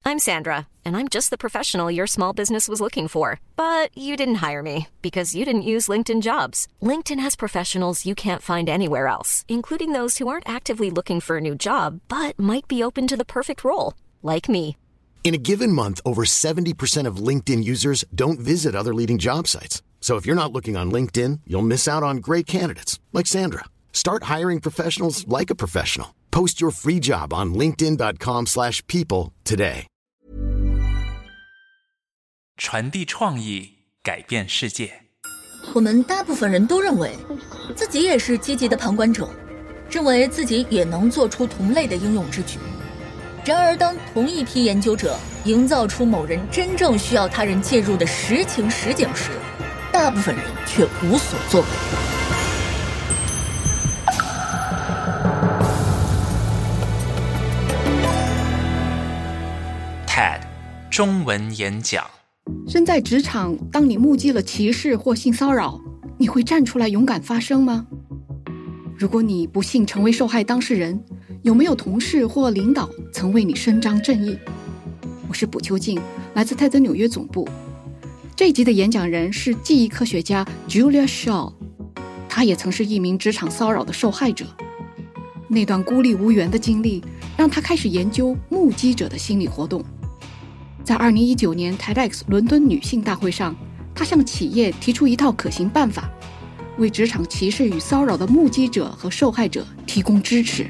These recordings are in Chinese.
I'm Sandra, and I'm just the professional your small business was looking for. But you didn't hire me because you didn't use LinkedIn Jobs. LinkedIn has professionals you can't find anywhere else, including those who aren't actively looking for a new job, but might be open to the perfect role, like me. In a given month, over 70% of LinkedIn users don't visit other leading job sites. So if you're not looking on LinkedIn, you'll miss out on great candidates like Sandra. Start hiring professionals like a professional. Post your free job on linkedin.com/people today. 传递创意，改变世界。 我们大部分人都认为自己也是积极的旁观者，认为自己也能做出同类的应用之举。然而当同一批研究者营造出某人真正需要他人介入的实情实景时，大部分人却无所作为。 TED 中文演讲。 身在职场，当你目击了歧视或性骚扰，你会站出来勇敢发声吗？如果你不幸成为受害当事人，有没有同事或领导曾为你伸张正义？我是卜秋静，来自泰德纽约总部。这一集的演讲人是记忆科学家 Julia Shaw， 她也曾是一名职场骚扰的受害者。那段孤立无援的经历让她开始研究目击者的心理活动。在2019年 TEDx 伦敦女性大会上，她向企业提出一套可行办法，为职场歧视与骚扰的目击者和受害者提供支持。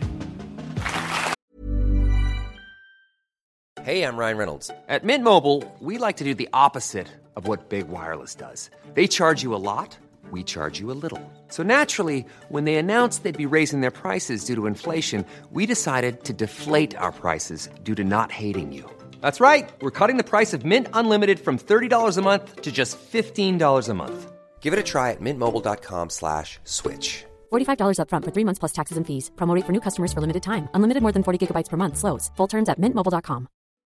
Hey, I'm Ryan Reynolds. At Mint Mobile, we like to do the opposite of what Big Wireless does. They charge you a lot, we charge you a little. So naturally, when they announced they'd be raising their prices due to inflation, we decided to deflate our prices due to not hating you. That's right. We're cutting the price of Mint Unlimited from $30 a month to just $15 a month. Give it a try at mintmobile.com/switch. $45 up front for 3 months plus taxes and fees. Promo rate for new customers for limited time. Unlimited more than 40 gigabytes per month. Slows full terms at mintmobile.com.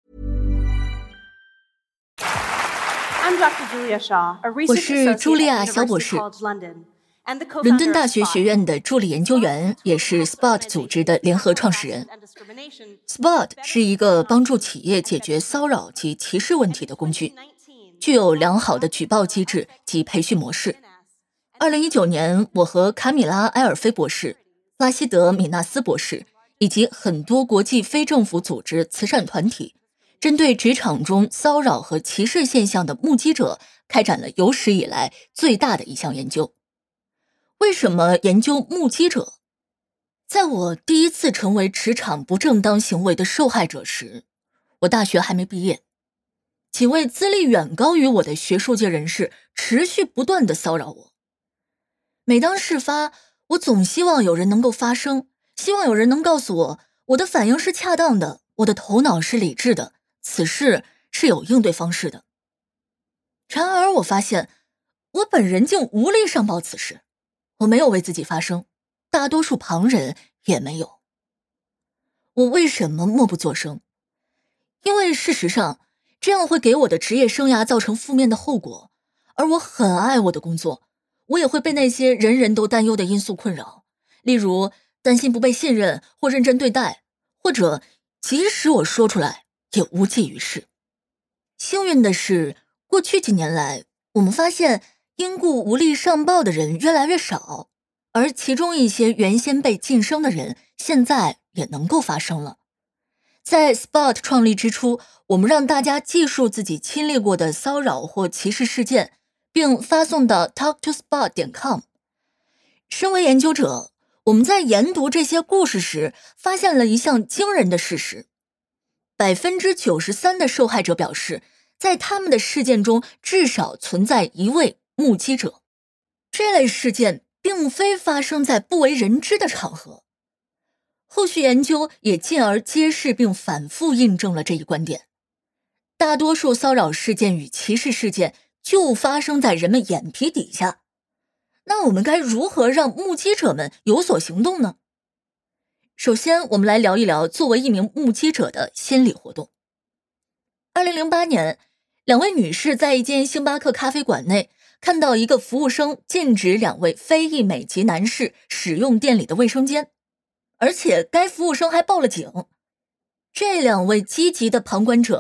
I'm Dr. Julia Shaw, a 我 research 是茱莉亚 associate 小 at 博 University 士， College London, and the 伦敦 co-founder 大 of 学 SPOT. 学院的助理研究员，也是 SPOT 组织的联合创始人。SPOT 是一个帮助企业解决骚扰及歧视问题的工具，具有良好的举报机制及培训模式。2019年，我和卡米拉·埃尔菲博士、拉希德·米纳斯博士以及很多国际非政府组织、慈善团体，针对职场中骚扰和歧视现象的目击者，开展了有史以来最大的一项研究。为什么研究目击者？在我第一次成为职场不正当行为的受害者时，我大学还没毕业。几位资历远高于我的学术界人士持续不断地骚扰我。每当事发，我总希望有人能够发声，希望有人能告诉我，我的反应是恰当的，我的头脑是理智的，此事是有应对方式的。然而我发现，我本人竟无力上报此事，我没有为自己发声，大多数旁人也没有。我为什么默不作声？因为事实上，这样会给我的职业生涯造成负面的后果，而我很爱我的工作，我也会被那些人人都担忧的因素困扰，例如担心不被信任或认真对待，或者即使我说出来也无济于事。幸运的是，过去几年来，我们发现因故无力上报的人越来越少，而其中一些原先被晋升的人现在也能够发声了。在 SPOT 创立之初，我们让大家记述自己亲历过的骚扰或歧视事件，并发送到 talktospot.com。 身为研究者，我们在研读这些故事时发现了一项惊人的事实。93% 的受害者表示，在他们的事件中至少存在一位目击者。这类事件并非发生在不为人知的场合。后续研究也进而揭示并反复印证了这一观点。大多数骚扰事件与歧视事件就发生在人们眼皮底下。那我们该如何让目击者们有所行动呢？首先，我们来聊一聊作为一名目击者的心理活动。2008年，两位女士在一间星巴克咖啡馆内看到一个服务生禁止两位非裔美籍男士使用店里的卫生间，而且该服务生还报了警。这两位积极的旁观者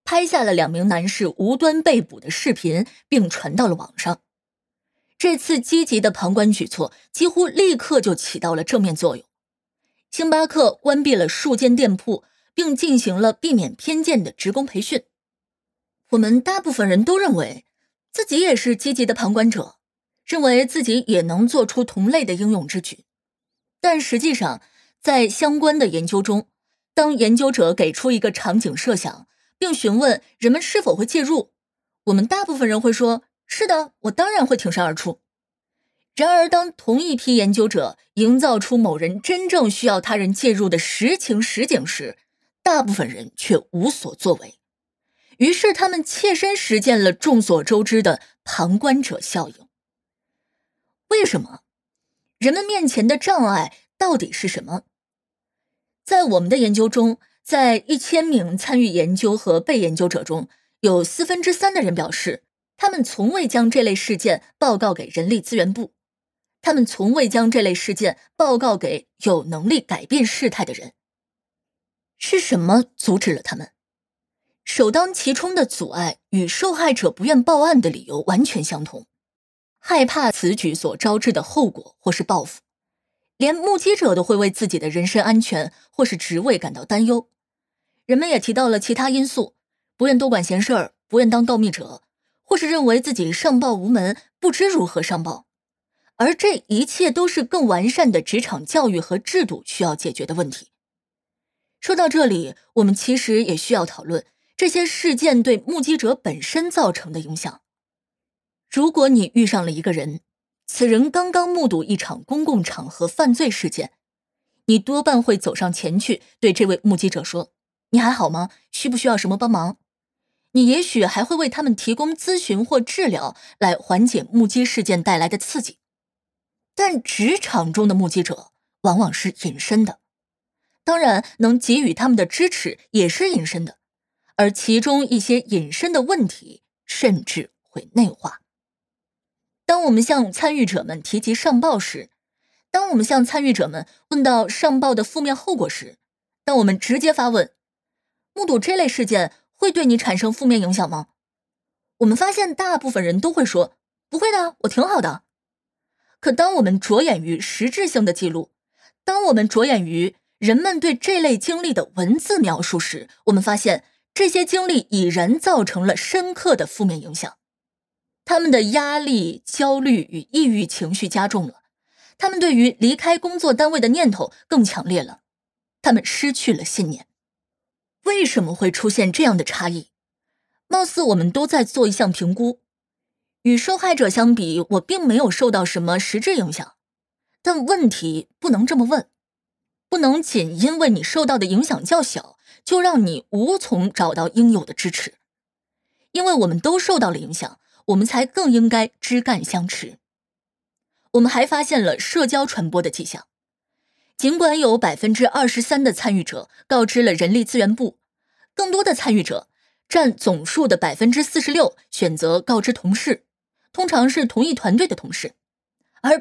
拍下了2名男士无端被捕的视频，并传到了网上。这次积极的旁观举措几乎立刻就起到了正面作用。星巴克关闭了数间店铺，并进行了避免偏见的职工培训。我们大部分人都认为自己也是积极的旁观者，认为自己也能做出同类的英勇之举。但实际上，在相关的研究中，当研究者给出一个场景设想，并询问人们是否会介入，我们大部分人会说，是的，我当然会挺身而出。然而当同一批研究者营造出某人真正需要他人介入的实情实景时，大部分人却无所作为。于是他们切身实践了众所周知的旁观者效应。为什么？人们面前的障碍到底是什么？在我们的研究中，在1000名参与研究和被研究者中，有3/4的人表示，他们从未将这类事件报告给人力资源部，他们从未将这类事件报告给有能力改变事态的人。是什么阻止了他们？首当其冲的阻碍与受害者不愿报案的理由完全相同，害怕此举所招致的后果或是报复。连目击者都会为自己的人身安全或是职位感到担忧。人们也提到了其他因素，不愿多管闲事儿，不愿当告密者，或是认为自己上报无门，不知如何上报。而这一切都是更完善的职场教育和制度需要解决的问题。说到这里，我们其实也需要讨论这些事件对目击者本身造成的影响。如果你遇上了一个人，此人刚刚目睹一场公共场合犯罪事件，你多半会走上前去对这位目击者说，你还好吗？需不需要什么帮忙？你也许还会为他们提供咨询或治疗，来缓解目击事件带来的刺激。但职场中的目击者往往是隐身的，当然能给予他们的支持也是隐身的，而其中一些隐身的问题甚至会内化。当我们向参与者们提及上报时，当我们向参与者们问到上报的负面后果时，当我们直接发问，目睹这类事件会对你产生负面影响吗？我们发现大部分人都会说，不会的，我挺好的。可当我们着眼于实质性的记录，当我们着眼于人们对这类经历的文字描述时，我们发现这些经历已然造成了深刻的负面影响。他们的压力、焦虑与抑郁情绪加重了，他们对于离开工作单位的念头更强烈了，他们失去了信念。为什么会出现这样的差异？貌似我们都在做一项评估。与受害者相比，我并没有受到什么实质影响。但问题不能这么问，不能仅因为你受到的影响较小，就让你无从找到应有的支持。因为我们都受到了影响，我们才更应该枝干相持。我们还发现了社交传播的迹象。尽管有 23% 的参与者告知了人力资源部，更多的参与者占总数的 46% 选择告知同事，通常是同一团队的同事，而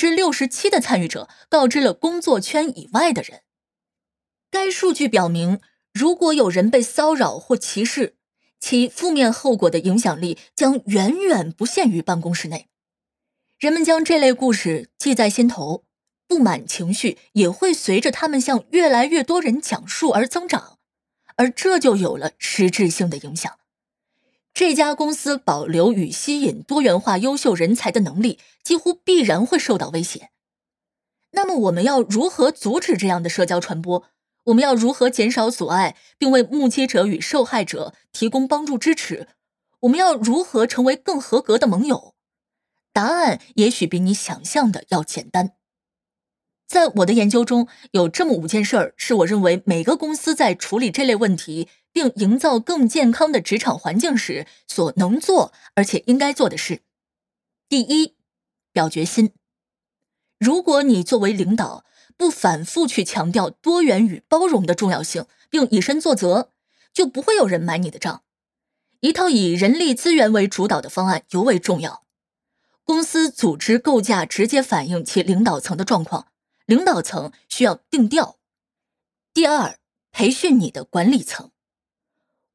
67% 的参与者告知了工作圈以外的人。该数据表明，如果有人被骚扰或歧视，其负面后果的影响力将远远不限于办公室内。人们将这类故事记在心头，不满情绪也会随着他们向越来越多人讲述而增长，而这就有了实质性的影响。这家公司保留与吸引多元化优秀人才的能力几乎必然会受到威胁。那么我们要如何阻止这样的社交传播？我们要如何减少阻碍，并为目击者与受害者提供帮助支持？我们要如何成为更合格的盟友？答案也许比你想象的要简单。在我的研究中，有这么5件事是我认为每个公司在处理这类问题并营造更健康的职场环境时所能做而且应该做的事。第一，表决心。如果你作为领导不反复去强调多元与包容的重要性，并以身作则，就不会有人买你的账。一套以人力资源为主导的方案尤为重要。公司组织构架直接反映其领导层的状况，领导层需要定调。第二，培训你的管理层。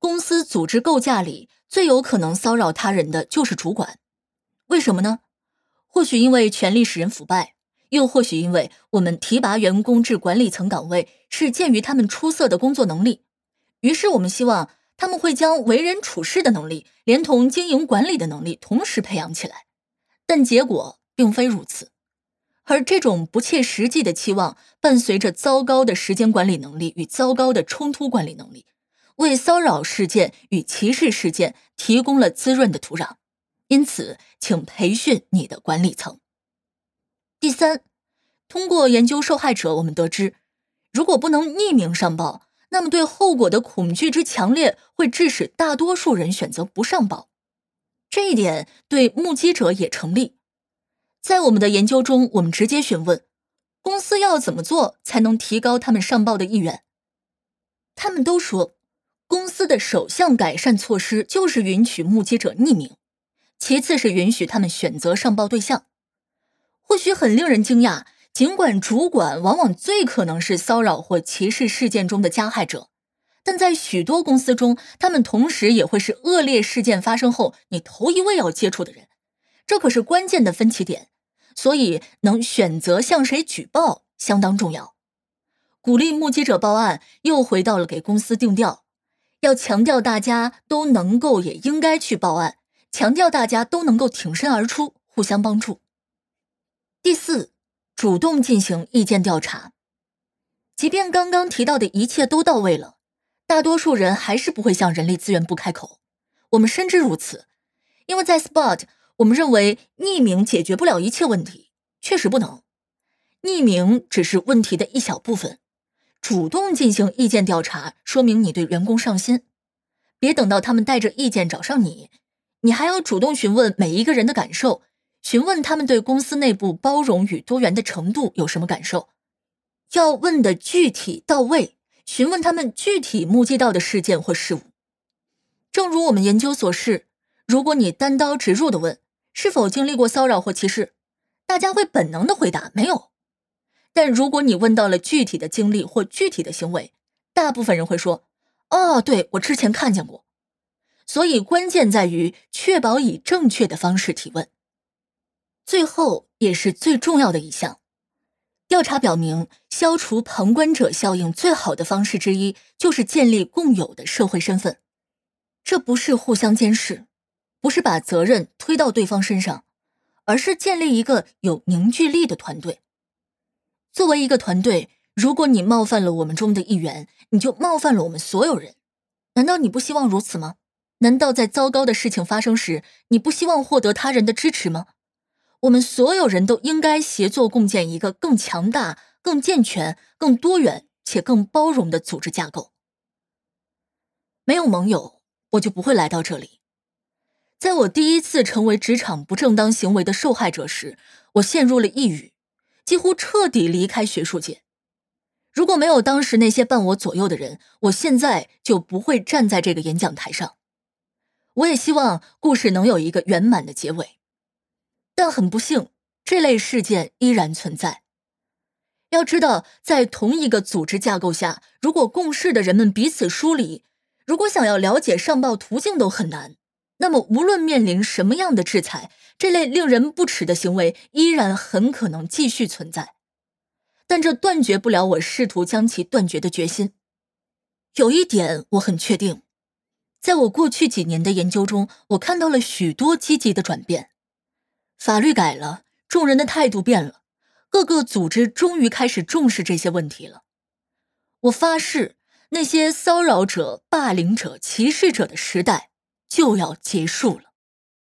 公司组织构架里最有可能骚扰他人的就是主管。为什么呢？或许因为权力使人腐败，又或许因为我们提拔员工至管理层岗位是鉴于他们出色的工作能力，于是我们希望他们会将为人处事的能力连同经营管理的能力同时培养起来，但结果并非如此。而这种不切实际的期望伴随着糟糕的时间管理能力与糟糕的冲突管理能力，为骚扰事件与歧视事件提供了滋润的土壤。因此，请培训你的管理层。第三，通过研究受害者，我们得知，如果不能匿名上报，那么对后果的恐惧之强烈会致使大多数人选择不上报。这一点对目击者也成立。在我们的研究中，我们直接询问公司要怎么做才能提高他们上报的意愿。他们都说，公司的首项改善措施就是允许目击者匿名，其次是允许他们选择上报对象。或许很令人惊讶，尽管主管往往最可能是骚扰或歧视事件中的加害者，但在许多公司中，他们同时也会是恶劣事件发生后你头一位要接触的人。这可是关键的分歧点，所以能选择向谁举报相当重要。鼓励目击者报案又回到了给公司定调，要强调大家都能够也应该去报案，强调大家都能够挺身而出，互相帮助。第四，主动进行意见调查。即便刚刚提到的一切都到位了，大多数人还是不会向人力资源部开口。我们深知如此，因为在 SPOT， 我们认为匿名解决不了一切问题，确实不能。匿名只是问题的一小部分，主动进行意见调查，说明你对员工上心。别等到他们带着意见找上你，你还要主动询问每一个人的感受，询问他们对公司内部包容与多元的程度有什么感受。要问的具体到位，询问他们具体目击到的事件或事物。正如我们研究所示，如果你单刀直入地问是否经历过骚扰或歧视，大家会本能地回答没有。但如果你问到了具体的经历或具体的行为，大部分人会说，哦，对，我之前看见过。所以关键在于确保以正确的方式提问。最后也是最重要的一项，调查表明，消除旁观者效应最好的方式之一就是建立共有的社会身份。这不是互相监视，不是把责任推到对方身上，而是建立一个有凝聚力的团队。作为一个团队，如果你冒犯了我们中的一员，你就冒犯了我们所有人。难道你不希望如此吗？难道在糟糕的事情发生时，你不希望获得他人的支持吗？我们所有人都应该协作共建一个更强大、更健全、更多元且更包容的组织架构。没有盟友，我就不会来到这里。在我第一次成为职场不正当行为的受害者时，我陷入了抑郁，几乎彻底离开学术界。如果没有当时那些伴我左右的人，我现在就不会站在这个演讲台上。我也希望故事能有一个圆满的结尾。但很不幸，这类事件依然存在。要知道，在同一个组织架构下，如果共事的人们彼此疏离，如果想要了解上报途径都很难，那么无论面临什么样的制裁，这类令人不齿的行为依然很可能继续存在。但这断绝不了我试图将其断绝的决心。有一点我很确定，在我过去几年的研究中，我看到了许多积极的转变。法律改了，众人的态度变了，各个组织终于开始重视这些问题了。我发誓，那些骚扰者、霸凌者、歧视者的时代就要结束了。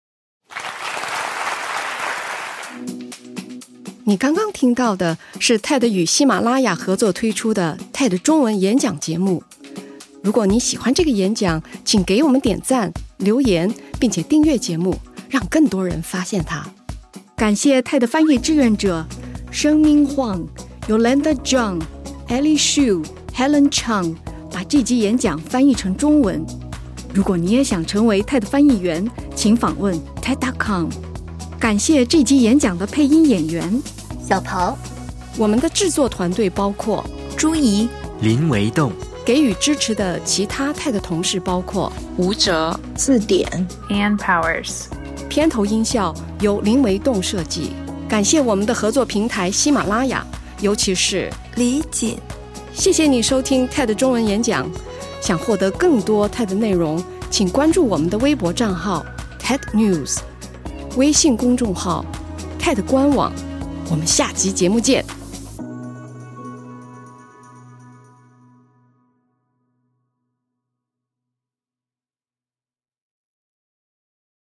你刚刚听到的是 TED 与喜马拉雅合作推出的 TED 中文演讲节目。如果你喜欢这个演讲，请给我们点赞、留言，并且订阅节目，让更多人发现它。感谢 TED 翻译志愿者生命晃、Yolanda Zhang、Ellie Shu、Helen Chang 把这集演讲翻译成中文。如果你也想成为 TED 翻译员，请访问 TED.com。 感谢这集演讲的配音演员小桃。 我们的制作团队包括朱怡、林维栋、 给予支持的其他 TED 同事包括吴哲、 字典、 Ann Powers。 片头音效由林维栋设计。感谢我们的合作平台喜马拉雅，尤其是李锦。 谢谢你收听 TED 中文演讲。想获得更多 TED 内容，请关注我们的微博账号 TED News， 微信公众号 TED 官网。我们下集节目见。